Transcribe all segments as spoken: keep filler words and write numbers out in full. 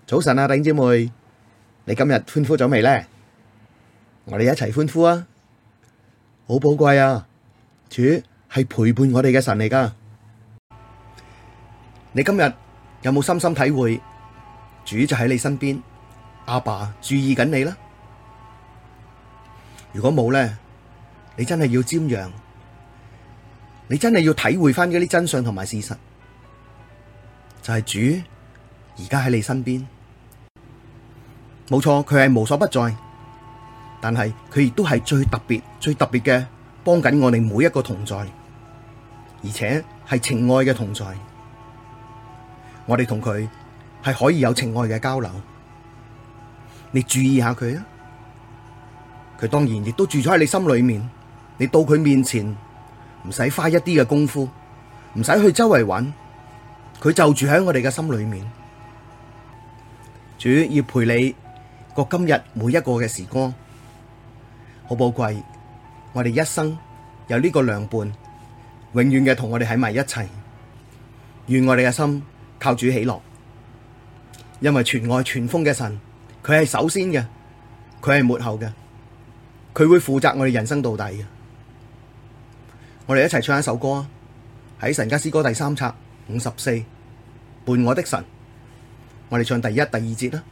早晨啊，弟兄姊妹，你今日歡呼咗未呢？我哋一齊歡呼啊！好寶貴啊！主係陪伴我哋嘅神嚟噶。你今日有冇深深體會主就喺你身邊，阿爸注意緊你啦？如果冇呢，你真係要瞻仰，你真係要體會翻嗰啲真相同埋事實，就係主而家喺你身邊。冇錯，佢係無所不在，但係佢亦都係最特別、最特別嘅幫緊我哋每一個同在，而且係情愛嘅同在。我哋同佢係可以有情愛嘅交流。你注意下佢啊，佢當然亦都住咗喺你心裏面。你到佢面前，唔使花一啲嘅功夫，唔使去周圍揾，佢就住喺我哋嘅心裏面。主要陪你過今日每一個嘅時光，好寶貴。我哋一生有呢個良伴，永遠嘅同我哋喺埋一齊。願我哋嘅心靠主喜樂，因為全愛全豐嘅神，佢係首先嘅，佢係末後嘅，佢會負責我哋人生到底嘅。我哋一齊唱一首歌啊！喺神家詩歌第三冊五十四，伴我的神，我哋唱第一、第二節啦。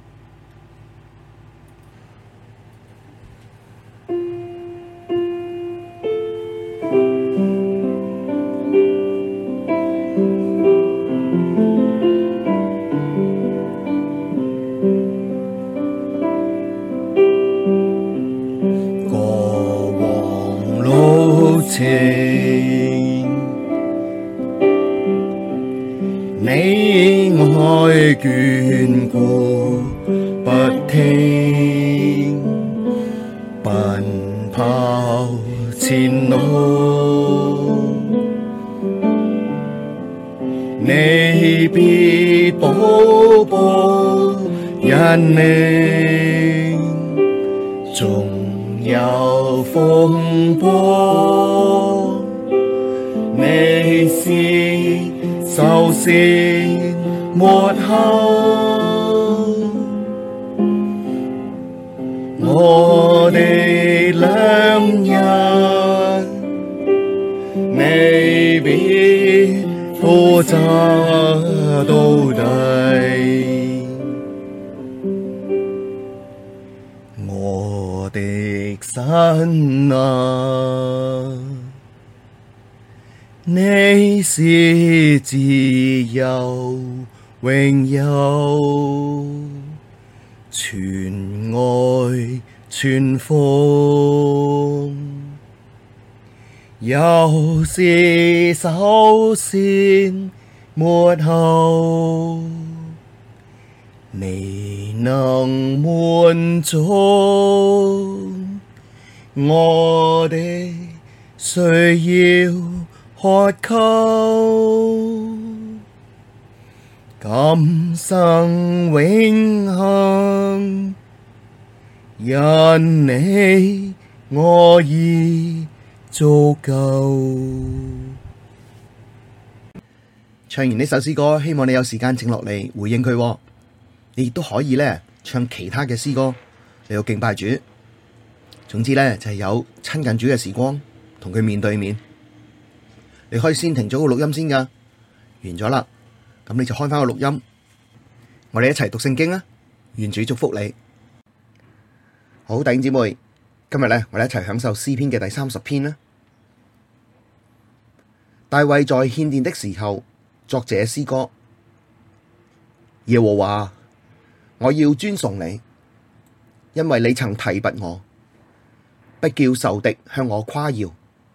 你愛眷顧不停，奔跑前路，你必步步引領，縱有風波，你是首先末後，我的良人，你必負責到底。我的神啊，你是自由永有，全愛全豐，又是首先末後，你能滿足我的需要渴求，今生永恆，因你我已足夠。 唱完呢首詩歌，希望你有時間靜落嚟回應佢。你亦都可以咧唱其他嘅詩歌嚟到敬拜主。總之咧就係有親近主嘅時光，同佢面對面。你可以先停咗個錄音先噶，完咗啦，咁你就開翻個錄音，我哋一齊讀聖經啊！願主祝福你。好，弟兄姊妹，今日咧我哋一齊享受詩篇嘅第三十篇啦。大衛在獻殿的時候作這詩歌：耶和華，我要尊崇你，因為你曾提拔我，不叫仇敵向我誇耀。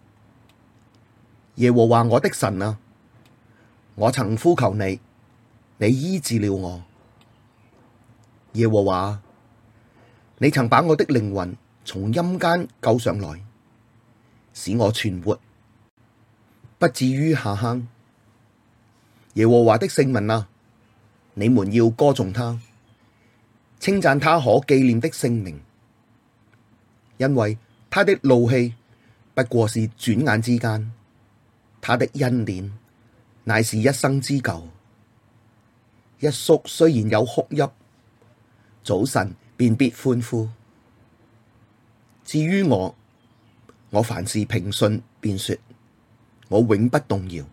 耶和華我的神啊，我曾呼求你，你醫治了我。耶和華，你曾把我的靈魂從陰間救上來，使我存活，不至於下坑。耶和華的聖民啊，你們要歌頌他，稱讚他可紀念的聖名，因為他的怒氣不過是轉眼之間，他的恩典乃是一生之久。 一宿雖然有哭泣，早晨便必歡呼。至於我，我凡事平順，便說我永不動搖。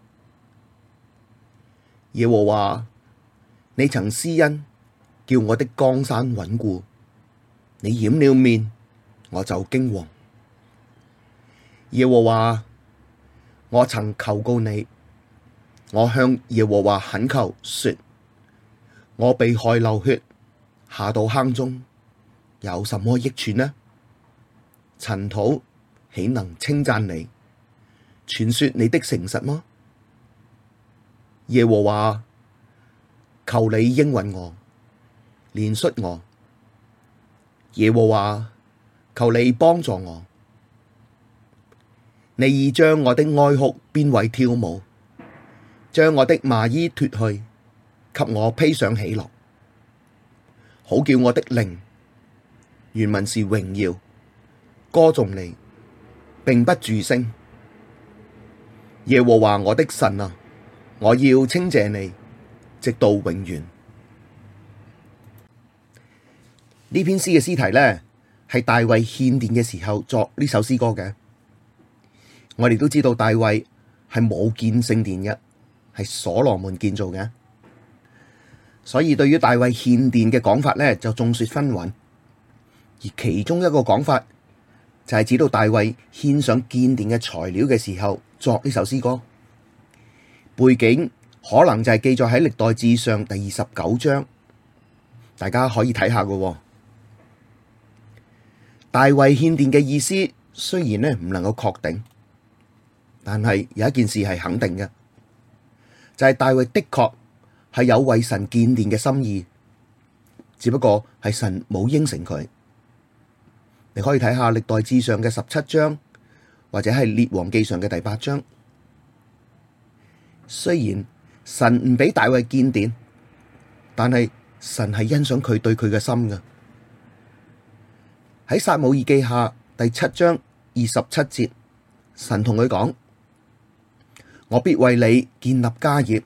耶和華，你曾施恩，叫我的江山穩固，你掩了面，我就驚惶。耶和華，我曾求告你，我向耶和華懇求說，我被害流血，下到坑中，有什麼益處呢？塵土豈能稱讚你，傳說你的誠實嗎？耶和華，求你應允我，憐恤我。耶和華，求你幫助我。你已將我的哀哭變為跳舞，將我的麻衣脫去，給我披上喜樂，好叫我的靈原文是榮耀歌頌你，並不住聲。耶和華我的神啊，我要稱謝你，直到永遠。呢篇詩嘅詩題呢，係大衛獻殿嘅時候作呢首詩歌嘅。我哋都知道大衛係冇建聖殿嘅，係所羅門建造嘅，所以對於大衛獻殿嘅講法呢，就眾說紛紜。而其中一個講法就係指到大衛獻上建殿嘅材料嘅時候作呢首詩歌，背景可能就係記載喺歷代志上第二十九章，大家可以睇下嘅。大衛獻殿嘅意思雖然呢唔能夠確定，但係有一件事係肯定嘅，就係大衛的確係有為神建殿嘅心意，只不過係神冇應承佢。你可以睇下歷代志上嘅十七章，或者係列王記上嘅第八章。雖然神唔俾大衛建殿，但係神係欣賞佢對佢嘅心嘅。喺撒母耳記下第七章二十七節，神同佢講：我必為你建立家業。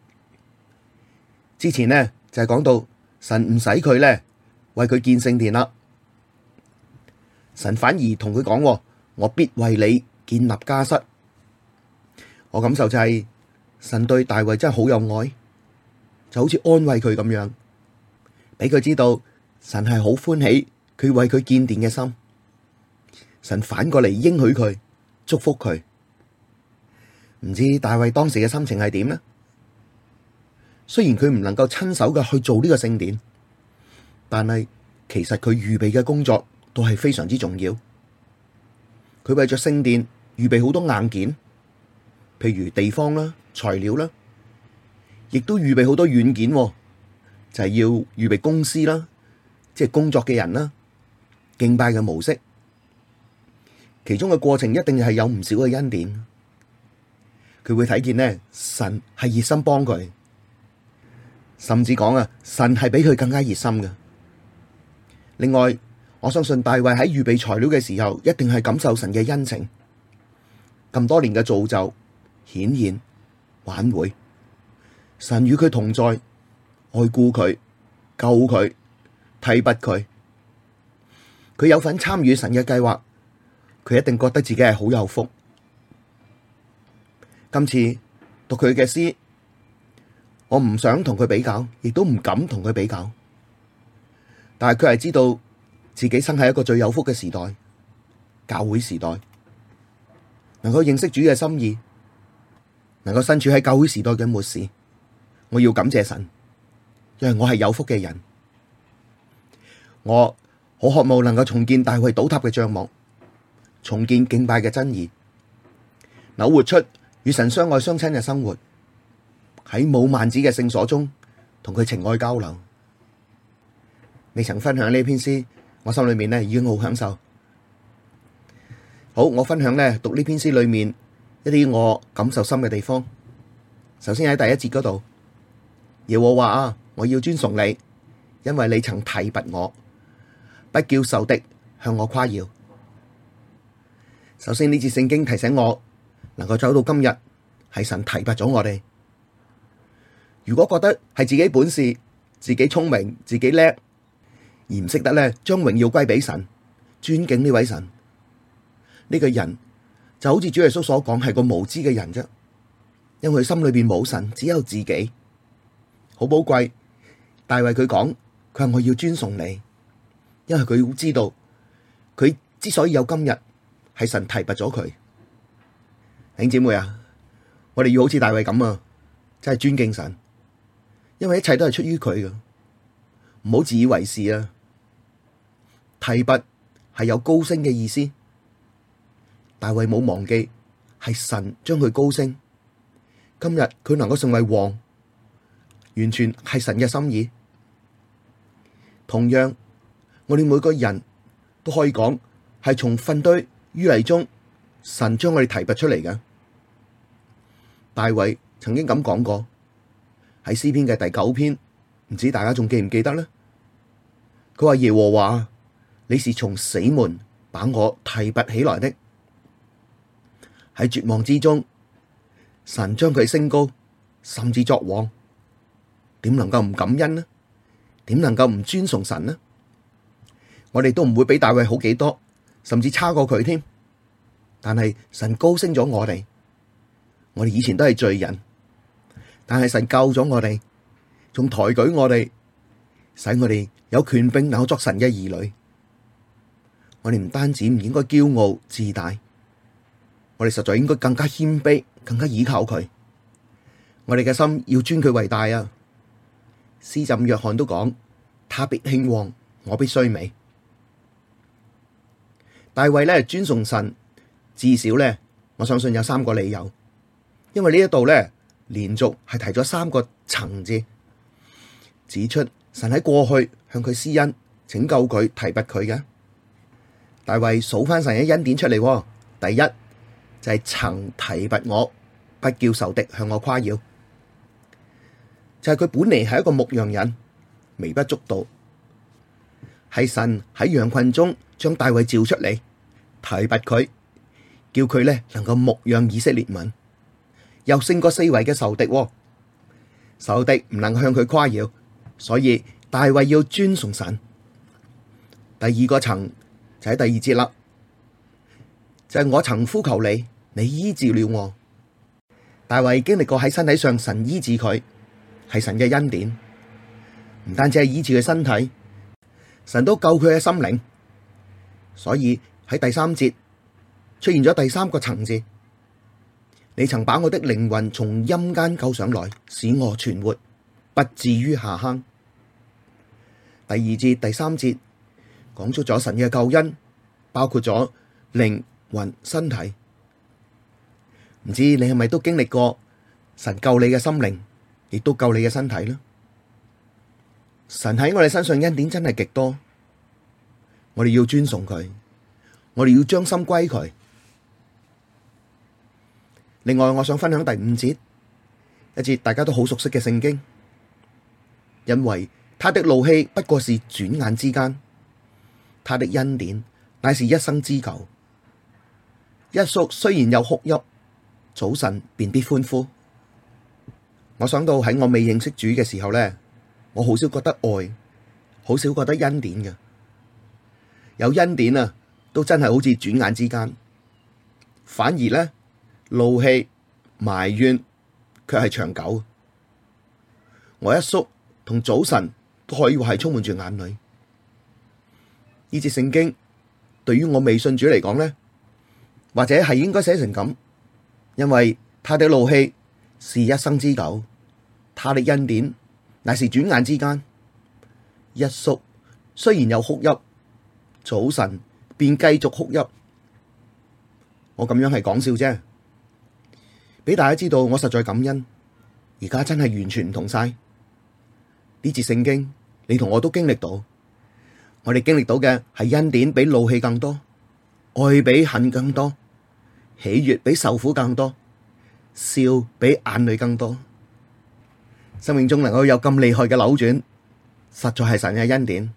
之前呢就係講到神唔使佢呢為佢建聖殿啦，神反而同佢講：我必為你建立家室。我感受就係神對大衛真係好有愛，就好似安慰佢咁樣，俾佢知道神係好歡喜佢為佢建殿嘅心。神反過嚟應許佢，祝福佢。唔知大衛當時嘅心情係點呢？雖然佢唔能夠親手嘅去做呢個聖殿，但係其實佢預備嘅工作都係非常之重要。佢為咗聖殿預備好多硬件，譬如地方啦、材料啦，亦都預備好多軟件，就係要預備公司啦，即係工作嘅人啦，敬拜嘅模式，其中嘅過程一定係有唔少嘅恩典。佢會睇見呢，神係熱心幫佢，甚至講啊，神係比佢更加熱心嘅。另外，我相信大衛喺預備材料嘅時候，一定係感受神嘅恩情，咁多年嘅造就、顯現、挽回，神與佢同在，愛顧佢、救佢、提拔佢，佢有份參與神嘅計劃，佢一定覺得自己係好有福。今次讀佢嘅詩，我唔想同佢比較，亦都唔敢同佢比較。但係佢係知道自己生喺一個最有福嘅時代，教會時代，能夠認識主嘅心意，能夠身處喺教會時代嘅末時，我要感謝神，因為我係有福嘅人。我好渴望能夠重建大衛倒塌嘅帳幕，重建敬拜嘅真義，能活出與神相愛相親嘅生活，喺冇幔子嘅聖所中同佢情愛交流。未曾分享呢篇詩，我心裏面呢已經好享受。好，我分享呢讀呢篇詩裏面一啲我感受深嘅地方。首先喺第一節嗰度，耶和華啊，我要尊崇你，因為你曾提拔我，不叫仇敵向我誇耀。首先呢節聖經提醒我，能夠走到今日，係神提拔咗我哋。 如果覺得係自己本事、自己聰明、自己叻，而唔識得咧將榮耀歸俾神，尊敬呢位神，呢個人就好似主耶穌所講，係個無知嘅人啫。因為佢心裏邊冇神，只有自己，好寶貴。大衛佢講，佢話我要尊崇你，因為佢知道佢之所以有今日，係神提拔咗佢。弟兄姊妹啊，我哋要好似大衛咁啊，真係尊敬神。因為一切都係出於佢嘅，唔好自以為是啊！提拔係有高升嘅意思，大衛冇忘記係神將佢高升，今日佢能夠成為王，完全係神嘅心意。同樣，我哋每個人都可以講係從糞堆淤泥中，神將我哋提拔出嚟嘅。大衛曾經咁講過。喺詩篇嘅第九篇，唔知大家仲記唔記得呢？佢話耶和華，你是從死門把我提拔起來的。喺絕望之中，神將佢升高，甚至作王，點能夠唔感恩呢？點能夠唔尊崇神呢？我哋都唔會比大衛好幾多，甚至差過佢添。但係神高升咗我哋，我哋以前都係罪人。但係神救咗我哋，仲抬舉我哋，使我哋有權柄能夠作神嘅兒女。我哋唔單止唔應該驕傲自大，我哋實在應該更加謙卑，更加倚靠佢。我哋嘅心要尊佢為大啊！施浸約翰都講：他必興旺，我必衰微。大衛咧尊崇神，至少咧，我相信有三個理由，因為呢一度咧。連續係提咗三個層字，指出神喺過去向佢施恩，拯救佢，提拔佢嘅。大衛數翻神嘅恩典出嚟，第一就係、是、曾提拔我，不叫仇敵向我誇耀，就係、是、佢本嚟係一個牧羊人，微不足道，係神喺羊群中將大衛召出嚟，提拔佢，叫佢咧能夠牧養以色列民。又勝過四圍嘅仇敵，仇敵唔能向佢誇耀，所以大衛要尊崇神。第二個層就喺第二節啦，就係、是、我曾呼求你，你醫治了我。大衛經歷過喺身體上神醫治佢，係神嘅恩典，唔單止係醫治佢身體，神都救佢嘅心靈。所以喺第三節出現咗第三個層次。你曾把我的靈魂從陰間救上來，使我存活，不至於下坑。第二節、第三節講出咗神嘅救恩，包括咗靈魂、身體。唔知你係咪都經歷過神救你嘅心靈，亦都救你嘅身體呢？神喺我哋身上恩典真係極多，我哋要尊崇佢，我哋要將心歸佢。另外，我想分享第五節，一節大家都好熟悉嘅聖經，因為他的怒氣不過是轉眼之間，他的恩典乃是一生之久。一宿雖然有哭泣，早晨便必歡呼。我想到喺我未認識主嘅時候呢，我好少覺得愛，好少覺得恩典嘅，有恩典啊，都真係好似轉眼之間，反而呢。怒氣埋怨卻係長久，我一宿同早晨都可以話係充滿住眼淚。呢節聖經對於我未信主嚟講呢，或者係應該寫成咁，因為他的怒氣是一生之久，他的恩典乃是轉眼之間。一宿雖然有哭泣，早晨便繼續哭泣。我咁樣係講笑啫。俾大家知道，我實在感恩，而家真係完全唔同晒。呢節聖經，你同我都經歷到，我哋經歷到嘅係恩典比怒氣更多，愛比恨更多，喜悅比受苦更多，笑比眼淚更多。生命中能夠有咁厲害嘅扭轉，實在係神嘅恩典，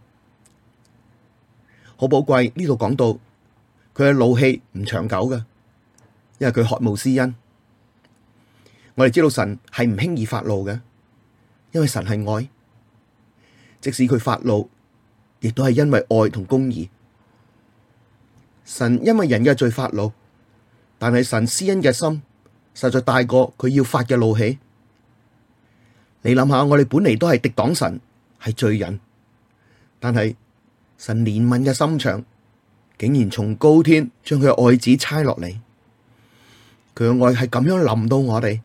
好寶貴。呢度講到佢嘅怒氣唔長久㗎，因為佢渴慕施恩。我哋知道神係唔輕易發怒嘅， 因為神係愛，即使佢發怒，亦都係因為愛同公義。神因為人嘅罪發怒，但係神施恩嘅心實在大過佢要發嘅怒氣。你諗下，我哋本嚟都係敵擋神，係罪人，但係神憐憫嘅心腸，竟然從高天將佢嘅愛子差落嚟，佢嘅愛係咁樣臨到我哋。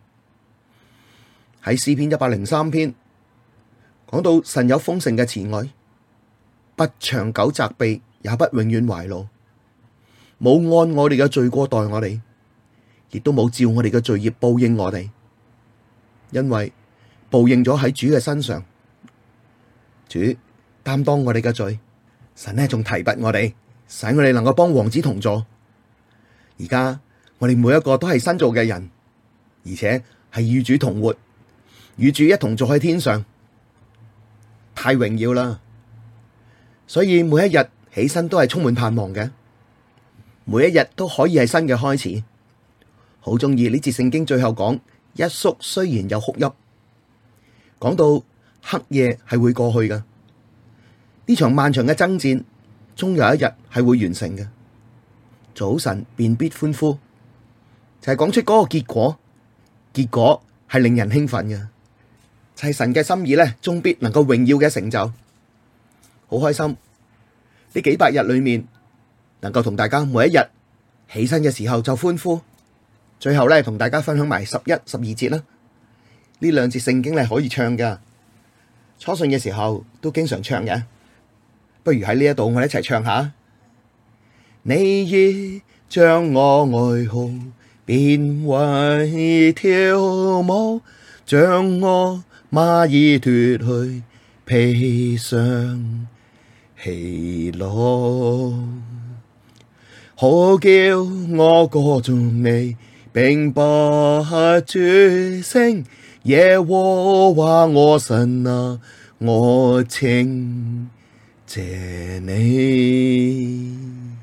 喺詩篇一百零三篇講到神有豐盛嘅慈愛，不長久責備，也不永遠懷怒，冇按我哋嘅罪過待我哋，亦都冇照我哋嘅罪孽報應我哋，因為報應咗喺主嘅身上，主擔當我哋嘅罪。神呢仲提拔我哋，使我哋能夠幫王子同坐。而家我哋每一個都係新造嘅人，而且係與主同活，與主一同坐喺天上，太榮耀啦！所以每一日起身都係充滿盼望嘅，每一日都可以係新嘅開始。好鍾意呢節聖經最後講，一宿雖然有哭泣，講到黑夜係會過去嘅。呢場漫長嘅爭戰，終有一日係會完成嘅。早晨便必歡呼，就係講出嗰個結果。結果係令人興奮嘅，就係神嘅心意咧，終必能夠榮耀嘅成就。好開心呢幾百日裏面，能夠同大家每一日起身嘅時候就歡呼。最後咧，同大家分享埋十一、十二節啦。呢兩節聖經咧可以唱噶，初信嘅時候都經常唱嘅。不如喺呢一度我哋一齊唱下。你已將我哀哭變為跳舞，將我麻衣脫去，披上喜樂，好叫我歌頌你，並不住聲。耶和華我神啊，我稱謝你。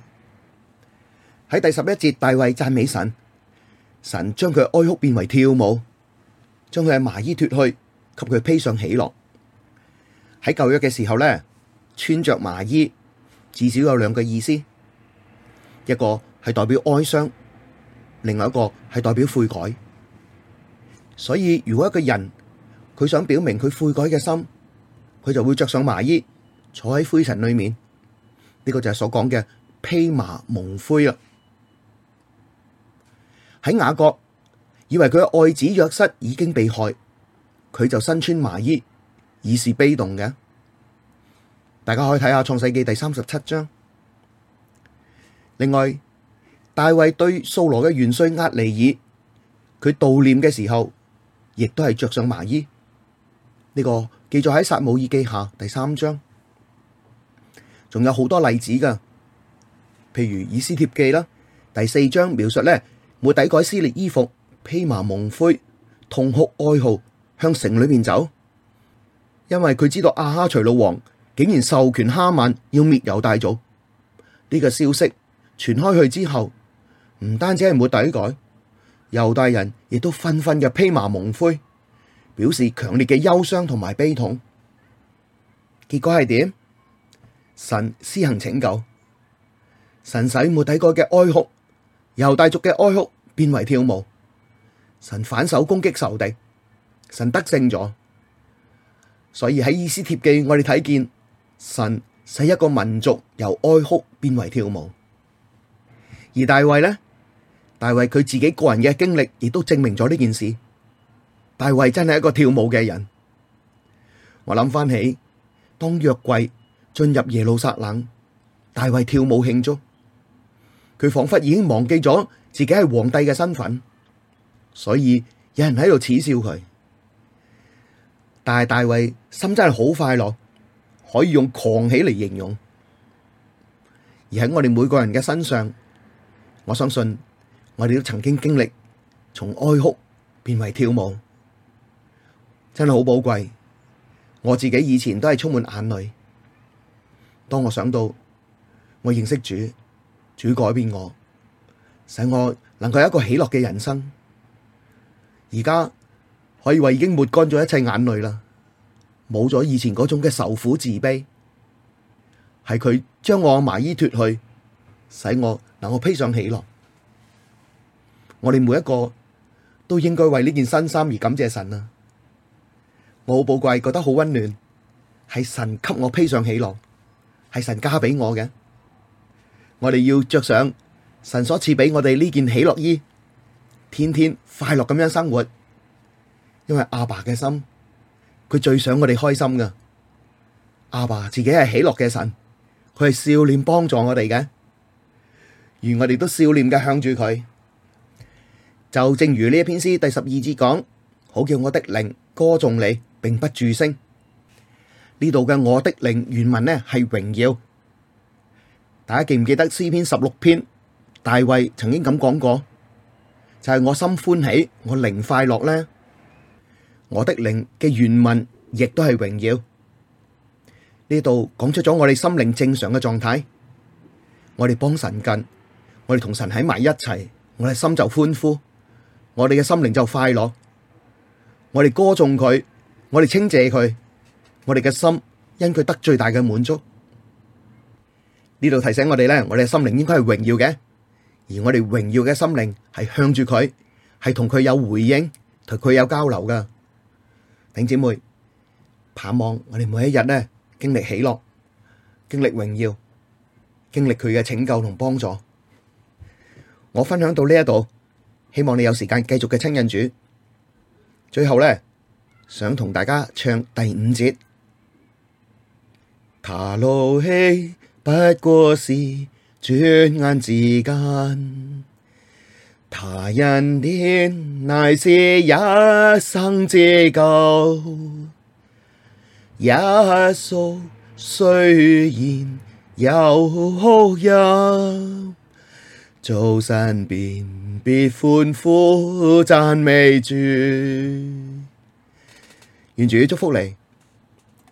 喺第十一節，大衛讚美神，神將佢哀哭變為跳舞，將佢嘅麻衣脫去，給佢披上喜樂。喺舊約嘅時候咧，穿着麻衣至少有兩個意思，一個係代表哀傷，另外一個係代表悔改。所以如果一個人佢想表明佢悔改嘅心，佢就會着上麻衣，坐喺灰塵裏面。呢個就係所講嘅披麻蒙灰啦。喺雅各以為佢嘅愛子約瑟已經被害，佢就身穿麻衣，以示悲慟嘅。大家可以睇下創世記第三十七章。另外，大衛對掃羅嘅元帥押尼珥，佢悼念嘅時候，亦都係着上麻衣。呢、這個記載喺撒母耳記下第三章，仲有好多例子噶，譬如以斯帖記啦，第四章描述咧，末底改撕裂衣服，披麻蒙灰，痛哭哀號，向城裏面走，因為佢知道亞哈隨魯王竟然授權哈曼要滅猶大族。呢、這個消息傳開去之後，唔單止係末底改，猶大人亦都紛紛嘅披麻蒙灰，表示強烈嘅憂傷同埋悲痛。結果係點？神施行拯救，神使末底改嘅哀哭，猶大族嘅哀哭變為跳舞。神反手攻擊仇敵，神得勝咗。所以喺以斯帖記，我哋睇見神使一個民族由哀哭變為跳舞。而大衛呢？大衛佢自己個人嘅經歷，亦都證明咗呢件事。大衛真係一個跳舞嘅人。我諗翻起，當約櫃進入耶路撒冷，大衛跳舞慶祝，佢仿佛已經忘記咗自己係皇帝嘅身份，所以有人喺度恥笑佢。但係大衛心真係好快樂，可以用狂喜嚟形容。而喺我哋每個人嘅身上，我相信我哋都曾經經歷從哀哭變為跳舞，真係好寶貴。我自己以前都係充滿眼淚，當我想到我認識主，主改變我，使我能夠有一個喜樂嘅人生，而家可以話已經抹乾咗一切眼淚啦，冇咗以前嗰種嘅愁苦自卑，係佢將我麻衣脫去，使我能夠披上喜樂。我哋每一個都應該為呢件新衫而感謝神啊！我好寶貴，覺得好溫暖，係神給我披上喜樂，係神加俾我嘅。我哋要着上神所賜俾我哋呢件喜樂衣，天天快樂咁樣生活。因為阿爸嘅心，佢最想我哋開心噶。阿爸自己係喜樂嘅神，佢係笑臉幫助我哋嘅，而我哋都笑臉嘅向住佢。就正如呢一篇詩第十二節講，好叫我的靈歌頌你，並不住聲。呢度嘅我的靈原文呢係榮耀。大家記唔記得詩篇十六篇大衛曾經咁講過，就係我心歡喜，我靈快樂呢。我的靈嘅原文亦都係榮耀。呢度講出咗我哋心靈正常嘅狀態，我哋幫神近，我哋同神喺埋一齊，我哋心就歡呼，我哋嘅心靈就快樂，我哋歌頌佢，我哋稱謝佢，我哋嘅心因佢得最大嘅滿足。呢度提醒我哋咧，我哋嘅心靈應該係榮耀嘅，而我哋榮耀嘅心靈係向住佢，係同佢有回應，同佢有交流噶。弟兄姊妹，盼望我哋每一日咧經歷喜樂，經歷榮耀，經歷佢嘅拯救同幫助。我分享到呢一度，希望你有時間繼續嘅親近主。最後咧，想同大家唱第五節。他怒氣不過是轉眼之間，他恩典乃是一生之久。一宿雖然有哭泣，早晨便必歡呼讚美主。願主祝福你。